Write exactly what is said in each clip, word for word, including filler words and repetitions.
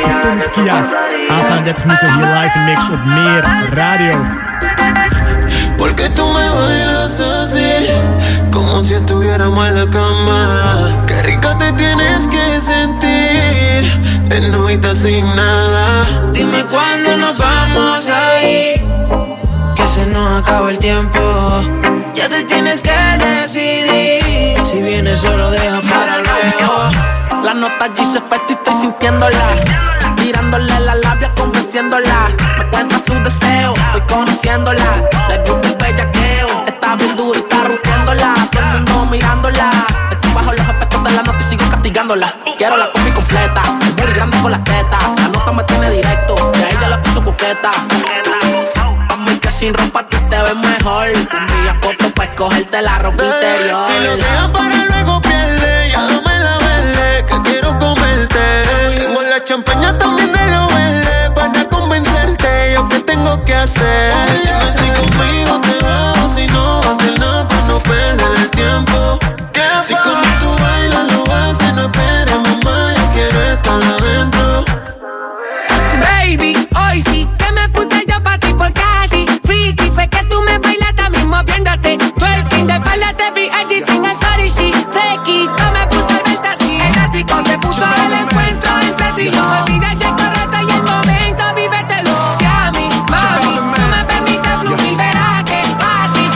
van Omid Kia. Aanstaande dertig minuten hier live in mix op Meer Radio. Porque tú me bailas así, como si estuviéramos en la cama. Qué rica te tienes que sentir, en novita sin nada. Dime cuándo nos vamos a ir, que se nos acaba el tiempo. Ya te tienes que decidir, si vienes solo deja para luego. La nota G se fue y estoy sintiéndola, mirándole la labia, convenciéndola. Me cuenta sus deseos, estoy conociéndola. Le gusta el bellaqueo, está bien dura y está rompiéndola. Todo el mundo mirándola, estoy bajo los efectos de la nota y sigo castigándola. Quiero la combi completa, el booty grande con las tetas. La nota me tiene directo, y a ella la puso coqueta. Mami, que sin ropa tú te ves mejor. Envía fotos pa' escogerte la ropa eh, interior. Si lo dejas para luego pierde, ya dame la verde, que quiero comerte. Tengo la champaña también de lo verde, para convencerte, yo qué tengo que hacer. Dime si conmigo te vas, si no va a hacer nada para no perder el tiempo. Si como tú bailas lo haces, no esperes mamá, yo quiero estar adentro. Baby, hoy sí que me puse yo pa' ti por casi. Freaky fue que tú me bailaste mismo viéndote. Tú el fin de espalda te vi editing al sorry, sí. Fresquito me puse el venta así. El ático se puso el encuentro entre tú y yo. Olvida ese correcto y el momento, vívetelo. Si a mí, mami, no me permites fluir, verás que es fácil.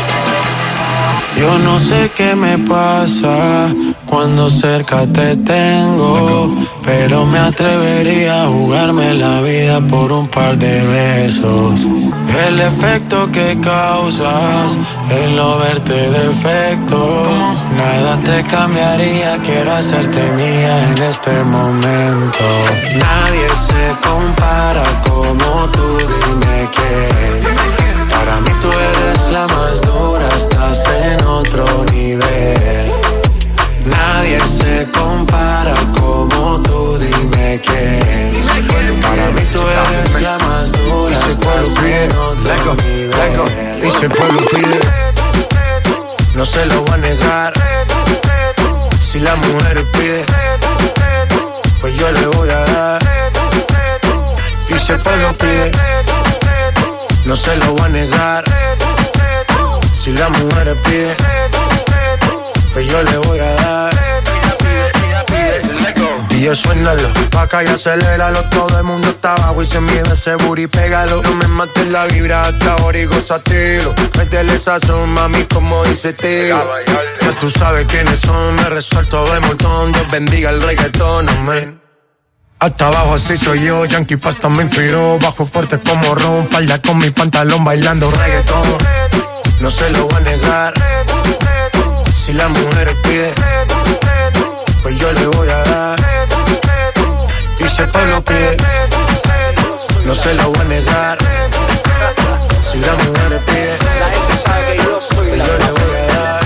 Yo no sé qué me pasa cuando cerca te tengo, pero me atrevería a jugarme la vida por un par de besos. El efecto que causas, el no verte defecto, nada te cambiaría, quiero hacerte mía en este momento. Nadie se compara como tú, dime quién. Para mí tú eres la más dura, estás en otro nivel. Nadie se compara como tú, dime quién. Para mí tú eres la más dura, estás en otro nivel. Y si el pueblo pide, no se lo voy a negar. Si la mujer pide, pues yo le voy a dar. Y si el pueblo pide, no se lo voy a negar. Si la mujer pide, pues yo le voy a dar. Y yo suénalo, pa' acá y aceléralo. Todo el mundo está abajo y se mide ese booty, pégalo. No me mates la vibra hasta ahora y gózatelo. Métele sazón, mami, como dice tío. Ya tú sabes quiénes son, me resuelto de montón. Dios bendiga el reggaetón, amén. Hasta abajo así soy yo, Yankee Pasta me inspiró. Bajo fuerte como ron, falda con mi pantalón bailando reggaetón. No se lo voy a negar. Si la mujer pide, pues yo le voy a dar. Y si el pueblo pide, no se lo voy a negar. Si la mujer pide, pues yo le voy a dar.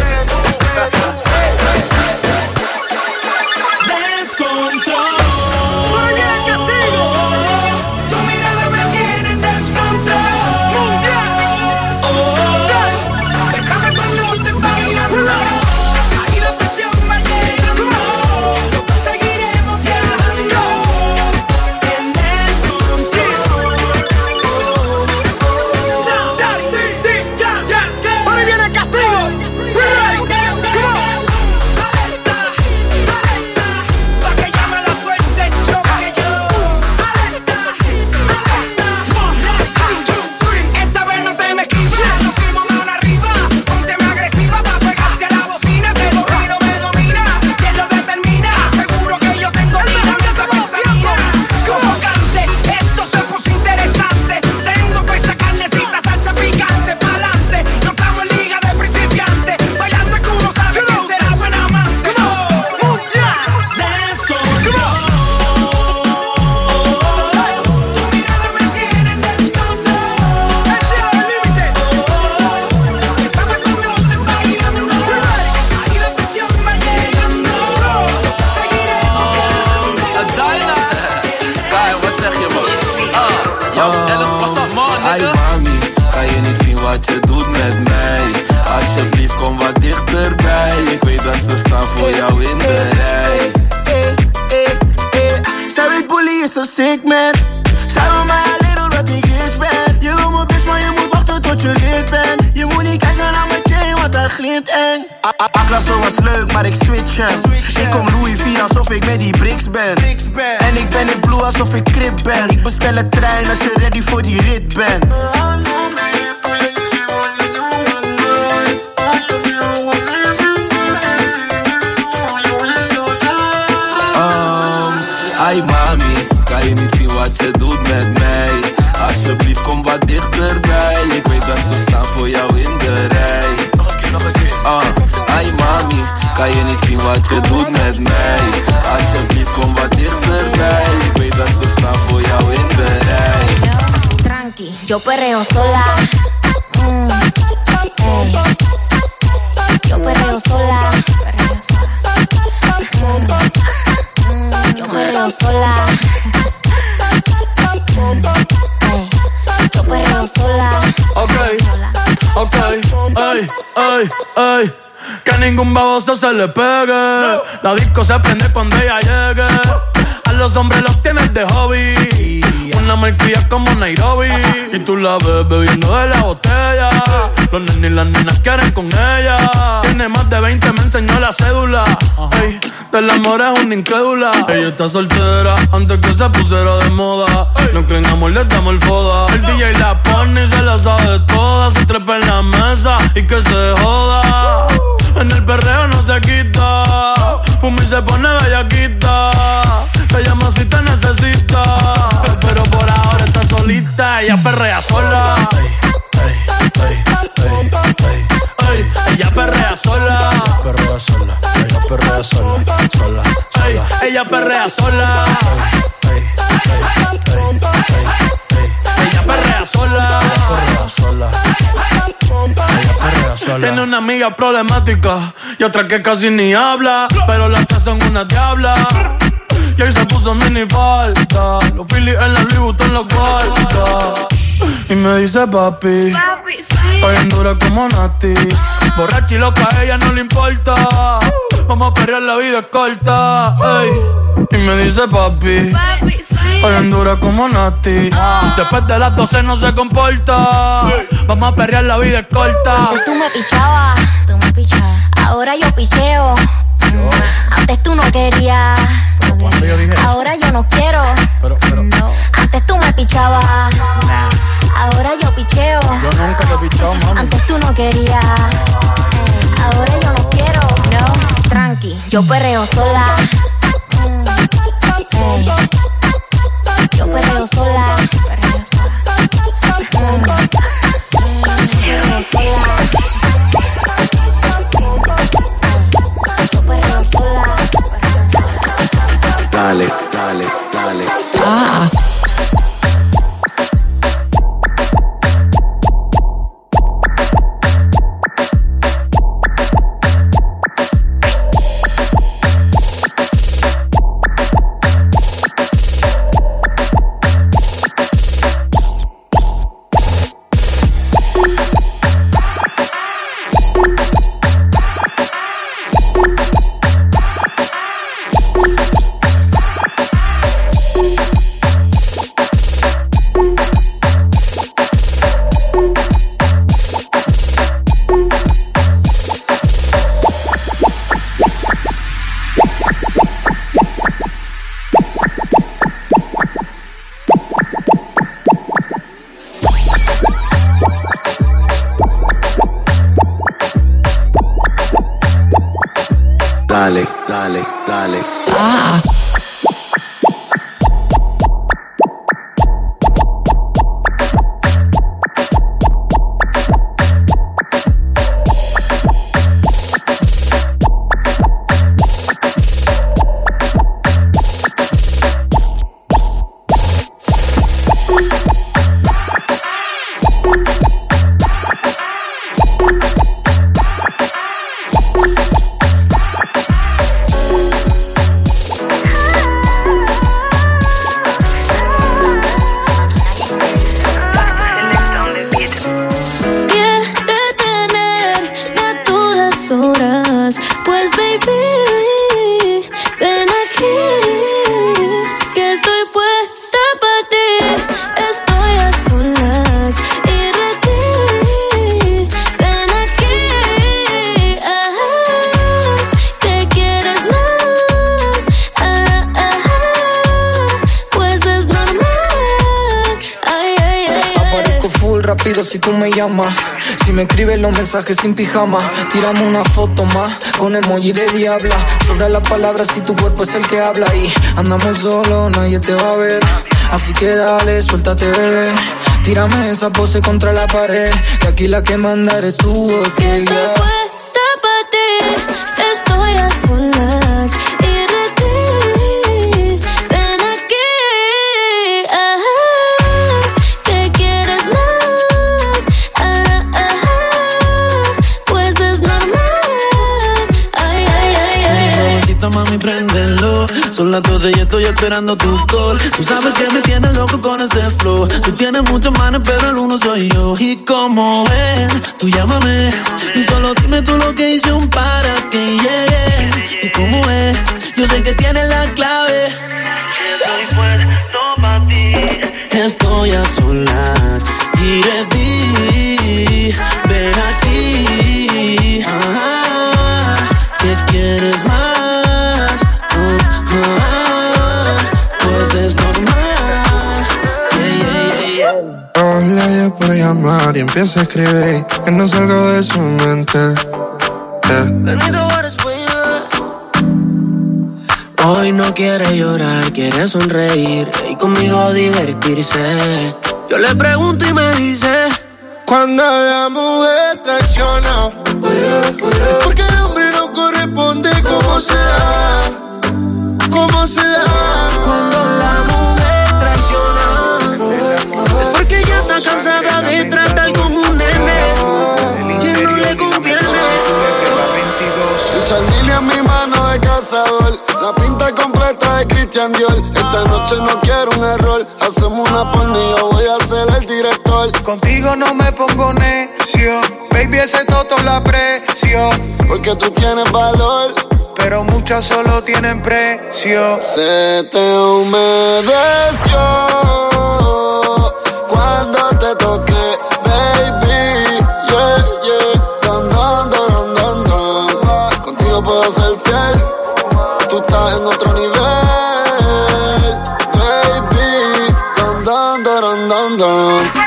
is een sick man. Zij wil mij alleen omdat ik rich ben. Je wil me best, maar je moet wachten tot je lid bent. Je moet niet kijken naar mijn chain, want hij glimt eng. Aklasso was leuk, maar ik switch hem. Ik kom Louis vier alsof ik met die bricks ben. En ik ben in blue alsof ik crip ben. Ik bestel een trein als je ready voor die rit bent. Ai mami, kan je niet zien wat je doet met mij? Alsjeblieft kom wat dichterbij. Ik weet dat ze staan voor jou in de rij. Nog een keer, nog een keer. uh, Ai mami, kan je niet zien wat je doet met mij? Alsjeblieft kom wat dichterbij. Ik weet dat ze staan voor jou in de rij. Tranqui, yo perreo sola. Mm, ey. Yo perreo sola. Perreo sola. Mm. Yo perreo sola. Hey, yo perreo sola. Ok, ok, ey, ey, ey. Que ningún baboso se le pegue. La disco se prende cuando ella llegue. A los hombres los tienes de hobby. Una malcria como Nairobi. Y tú la ves bebiendo de la botella. Los nenes y las nenas quieren con ella. Tiene más de veinte, me enseñó la cédula. Ey, del amor es una incrédula. Ella está soltera antes que se pusiera de moda. No creen amor, le damos el foda. El D J la pone y se la sabe toda. Se trepa en la mesa y que se joda. En el perreo no se quita. Fuma y se pone bellaquita. Te llama si te necesita. Pero por ahora está solita. Ella perrea sola. Ey, ey, ey, ey, ey. Ella perrea sola. Ella perrea sola. Ella perrea sola. Sola, sola. Ella perrea sola. Ey, ey, ey, ey, ey. Ella perrea sola. Ella perrea sola. Tiene una amiga problemática y otra que casi ni habla, pero las tres son una diabla. Y ahí se puso mini falta. Los Phillies en la Louis Vuitton en la cuarta. Y me dice papi, papi sí. Estoy en dura como Nati. Borracha y loca, a ella no le importa. Vamos a perrear, la vida es corta. Ey. Y me dice papi, papi sí. Estoy en dura como Nati. Después de las doce no se comporta. Vamos a perrear, la vida es corta. Antes tú me pichabas, tú me pichabas. Ahora yo picheo. Yo. Antes tú no querías. Yo dije ahora eso? Yo no quiero. Pero, pero. No. Antes tú me pichabas. Nah. Ahora yo picheo. Yo nunca te he pichado, mami. Antes tú no querías. Nah. Ahora yo no quiero. No. Tranqui, yo perreo sola. Mm. Hey. Yo perreo sola. Perreo sola. Mm. Perreo sola. Yo perreo sola. Dale, dale, dale. Ah. Dale, dale, dale. Ah. rápido si tú me llamas. Si me escribes los mensajes sin pijama, tírame una foto más con emoji de diabla. Sobra las palabras si tu cuerpo es el que habla. Y andamos solos, nadie te va a ver. Así que dale, suéltate, bebé. Tírame esa pose contra la pared, que aquí la que manda eres tú, ok, que estoy yeah. puesta pa' ti, estoy a solas y de ti. Ven aquí, ajá, ¿qué quieres más? Ah, ajá, pues es normal. Ay, ay, ay, ay. Mamacita, mami, préndelo. Son las dos y estoy esperando tu call. Tú sabes que me tienes loco con ese flow. Tú tienes muchos manes, pero el uno soy yo. Y como ven, tú llámame y solo dime tú lo que hice un para que llegue. Y como es, yo sé que tienes la clave. Estoy puesto pa' ti. Estoy a solas y de ti. Ven aquí. Ah, ¿qué quieres más? Pues es normal. Yeah, yeah, yeah. No le dio por llamar y empieza a escribir que no salgo de su mente. Yeah. Hoy no quiere llorar, quiere sonreír y conmigo divertirse. Yo le pregunto y me dice: cuando la mujer traiciona, porque el hombre no corresponde como se da, como se da. Cuando la mujer traiciona, es porque ella está cansada de tratar como un nene que no le conviene. Chanel en mi mano de cazador, la pinta completa de Christian Dior. Esta noche no quiero un error, hacemos una porno y yo voy a ser el director. Contigo no me pongo necio, baby, ese toto la aprecio. Porque tú tienes valor, pero muchas solo tienen precio. Se te humedeció cuando te toqué, baby, yeah, yeah. Don, don, don, don, don. Contigo puedo ser fiel, tú estás en otro nivel, baby. Don, don, don, don, don.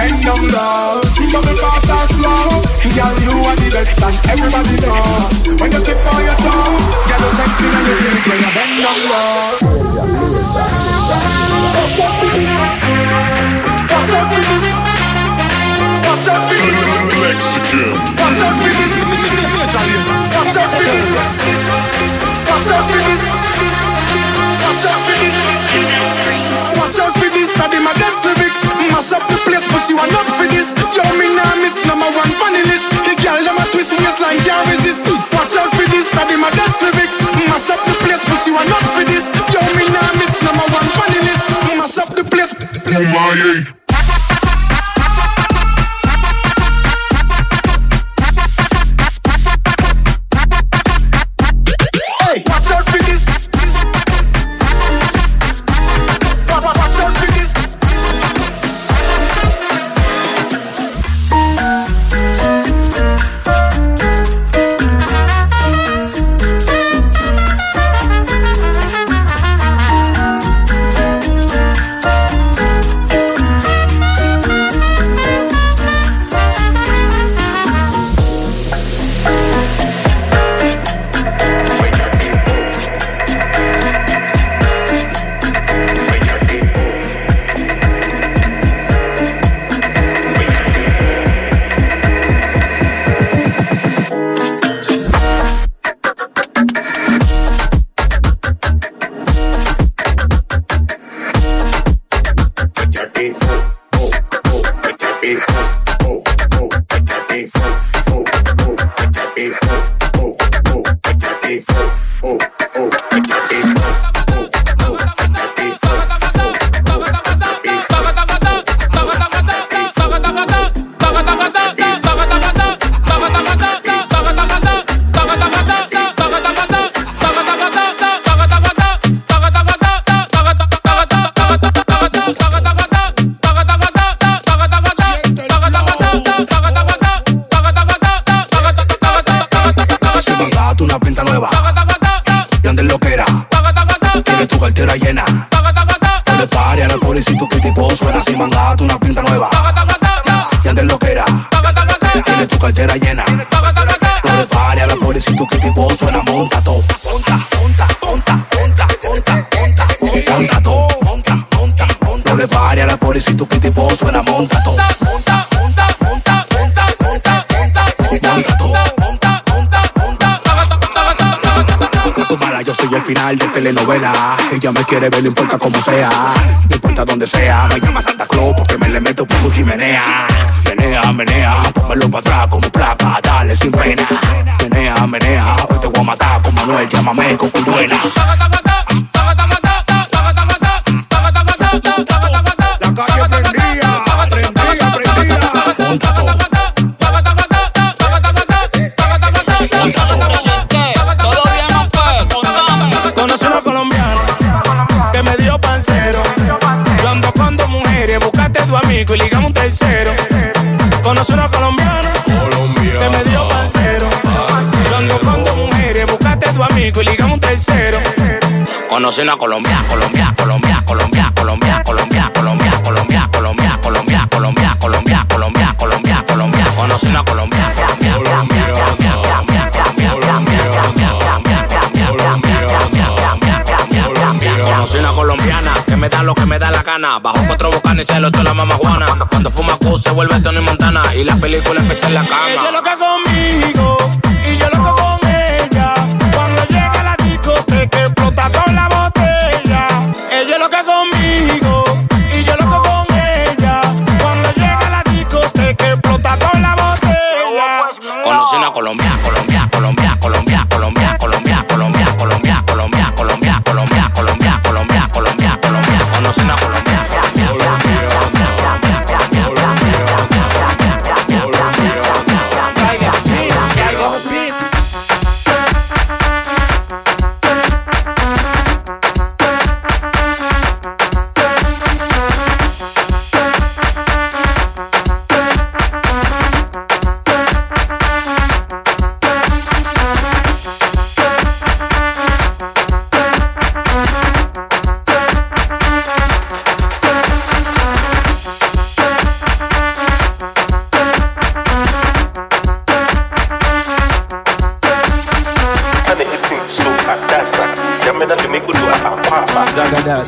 bend down low. Bubble fast and slow. Girl, you are the best and everybody know. When you tip on your toe, girl, you sexy and you feel when you bend down low. Mexican. Watch out for this. Watch out for this. Watch out for this. Watch out for this. Watch out for this. I did my best lyrics. Mash up the place, but she want up for this. Yo, me nah miss number one funny list. The girl them a twist waistline can't resist. Watch out for this. I did my best lyrics. Mash up the place, but she want up for this. Yo, me nah miss number one funny list. Mash up the place. Oh my. De telenovela, ella me quiere ver, no importa cómo sea, no importa donde sea, me llama Santa Claus porque me le meto por su chimenea. Menea, menea, pónmelo para atrás como placa, dale sin pena. Menea, menea, hoy te voy a matar con Manuel, llámame con Cuyuela. La calle prendía, prendía, prendía. Monta todo. Conocí una colombiana que me dio pancero. Yo ando con dos mujeres, buscaste tu amigo y ligamos un tercero. Conocí una colombiana que me dio pancero. Yo ando con dos mujeres, buscaste tu amigo y ligamos un tercero. Conocí una Colombia, Colombia, Colombia, Colombia, Colombia, Colombia, Colombia, Colombia, Colombia, Colombia, Colombia, Colombia, Colombia, Colombia, Colombia. Conocí una Colombia, Colombia, Colombia, Colombia, Colombia, Colombia, Colombia, Colombia, Colombia, Colombia. Conocí una colombiana que me da lo que me da la gana. Bajo cuatro bocanes y se lo echo la mamá Juana. Cuando fuma Q se vuelve Tony Montana y la película empieza en la cama. Ella loca conmigo y yo loco con ella. Cuando llega a la discoteca explota con la botella. Ella loca conmigo y yo loco con ella. Cuando llega a la discoteca explota con la botella. Conocí una Colombia, Colombia, Colombia, Colombia, Colombia, Colombia, Colombia, Colombia, Colombia, Colombia, Colombia, Colombia, Colombia, Colombia, Colombia. Conocí una Colombia, that.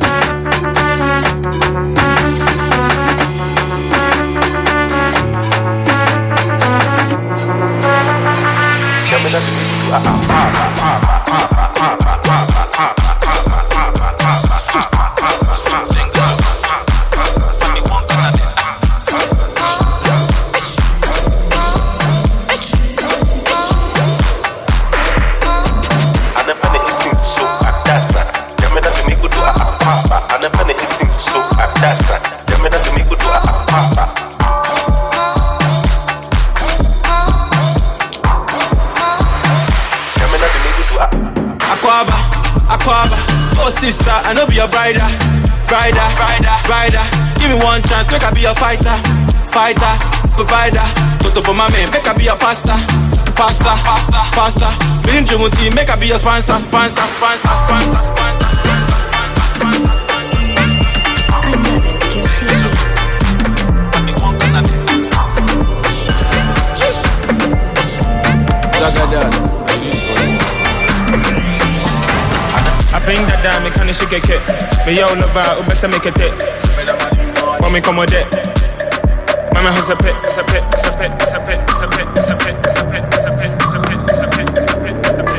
Sister, I know be your brider, brider, brider, brider. Give me one chance, make I be your fighter, fighter, provider. Toto for my man, make I be your pastor, pastor, pastor. Bring Jumuti, make I be your sponsor, sponsor, sponsor, sponsor, sponsor. Another guilty I bring that down, me can't shake it. Me yo love out, ou best make it it. Want me come with it? Mama has a pit, it's a pit, it's a pit, it's a pit, it's a pit, it's a pit, it's a pit, it's a pit, it's a pit, it's a pit, it's a pit, it's a pit.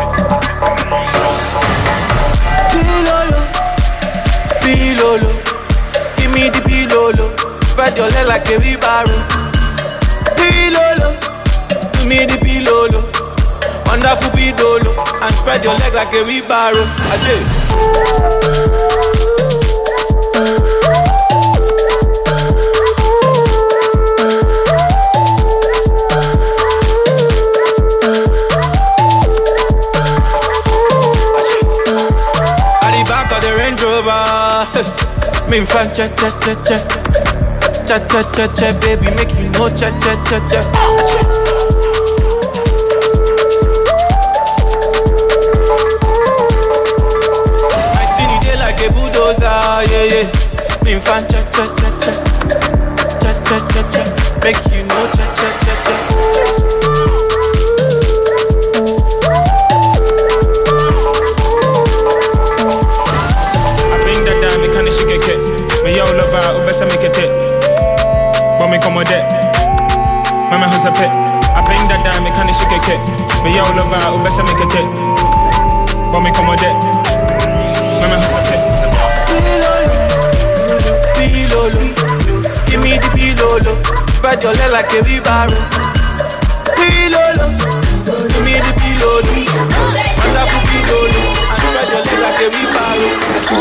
Pilolo, pilolo, give me the pilolo. Spread your leg like a wheelbarrow. Pilolo, give me the pilolo. Wonderful pilolo, and spread your leg like a wheelbarrow. Ajay. Me fan cha cha cha cha cha cha cha cha baby make you know cha cha cha cha. My thing dey like a bulldozer, yeah yeah. Me fan cha cha cha cha cha cha cha cha make you know cha cha cha cha. Me yo love out, ou best make it it. But me come with it. Mama who's a pit. I bring that down, me can't shake it. Me yo love out, ou best make it it. But me come with it. Mama who's a pit. Pilolo, give me the pilolo. Spread your leg like a wheelbarrow. Pilolo, give me the pilolo. Wonderful pilolo, and spread your leg like a wheelbarrow.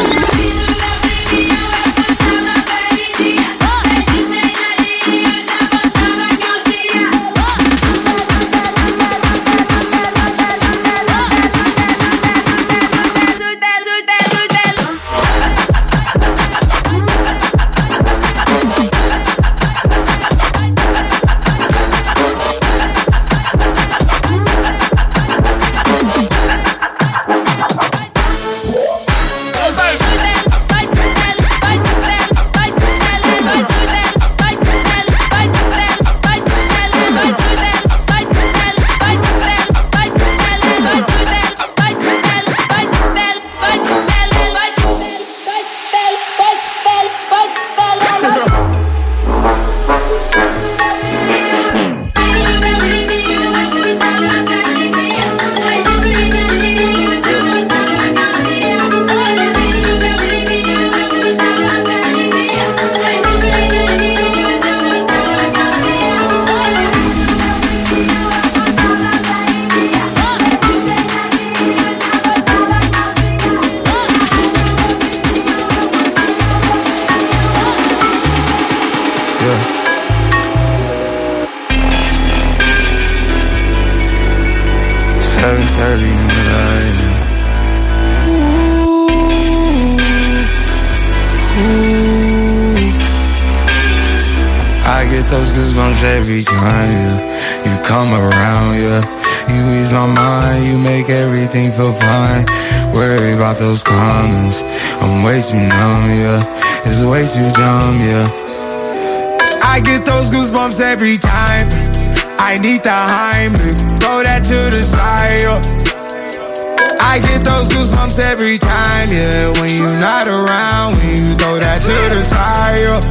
seven thirty in the night. Ooh, ooh. I get those goosebumps every time, yeah. You come around, yeah. You ease my mind, you make everything feel fine. Worry about those comments, I'm way too numb, yeah. It's way too dumb, yeah. I get those goosebumps every time. I need the Heimlich, throw that to the side, yeah. I get those goosebumps every time, yeah. When you're not around, when you throw that to the side, yeah.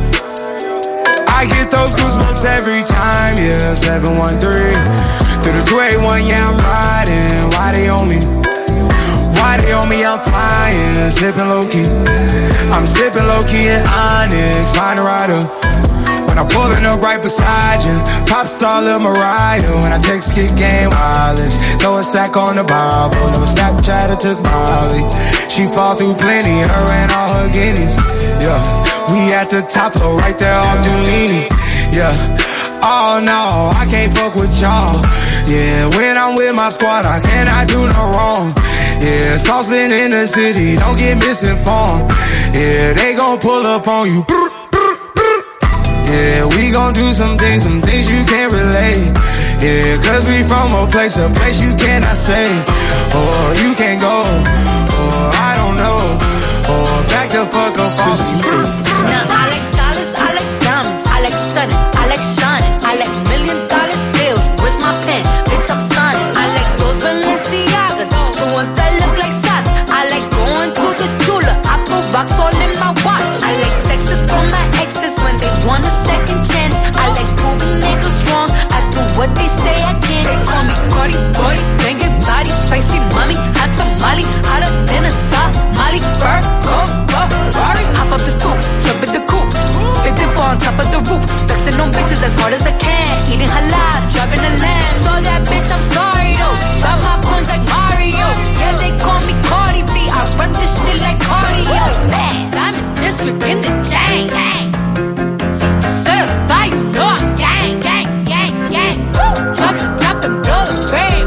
I get those goosebumps every time, yeah. seven one three through the two eight one, yeah, I'm riding. Why they on me? Why they on me? I'm flying, sipping low-key. I'm sipping low-key in Onyx, find a rider. When I'm pulling up right beside you, pop star Lil Mariah. When I text kick game wireless, throw a stack on the Bible. Never Snapchat or took Molly. She fall through plenty, her and all her guineas. Yeah, we at the top floor, right there off Duini. Yeah, oh no, I can't fuck with y'all. Yeah, when I'm with my squad, I cannot do no wrong. Yeah, saucepan in the city, don't get misinformed. Yeah, they gon' pull up on you. Yeah, we gon' do some things, some things you can't relate. Yeah, cause we from a place, a place you cannot stay. Or you can't go, or I don't know. Or back the fuck up on me. Now I like dollars, I like diamonds, I like stunning, I like shining, I like million dollar deals. Where's my pen? Bitch, I'm signing. I like those Balenciagas, the ones that look like socks. I like going to the Tula, I put rocks all in my watch. I like texts from my exes when they want a second chance. I like proving niggas wrong, I do what they say I can't. They call me Cardi, Cardi, banging body, spicy mommy, hot tamale, hotter than a Somali. Bird, go, go, Rari, hop up the stoop, jump in the coupe, big dip on top of the roof, flexing on bitches as hard as I can, eating halal, driving a lamb. So that bitch, I'm sorry though, got my coins like Mario. Yeah, they call me Cardi B, I run this shit like cardio. Bass, I'm in district in the chain. Certified, you know I'm gang, gang, gang, gang. Drop the top and blow the brain.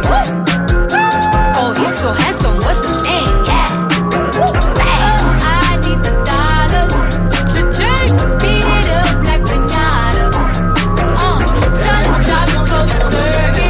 Oh, he's so handsome, what's his name? Yeah. Bass, I need the dollars. Cha-ching, beat it up like pinata. Uh, tell the drop close to thirty.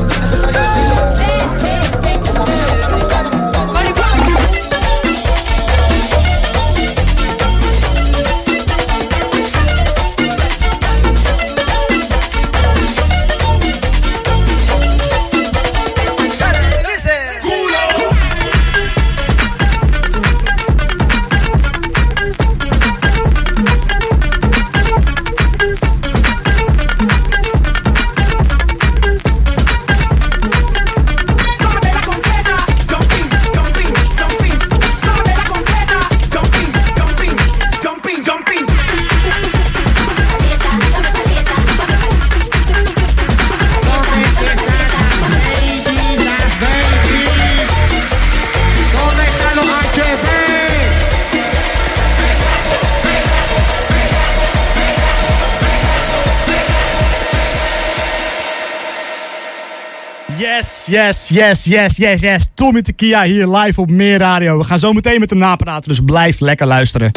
Yes, yes, yes, yes, yes, yes. Tommy Tequila hier live op Meer Radio. We gaan zo meteen met hem napraten, dus blijf lekker luisteren.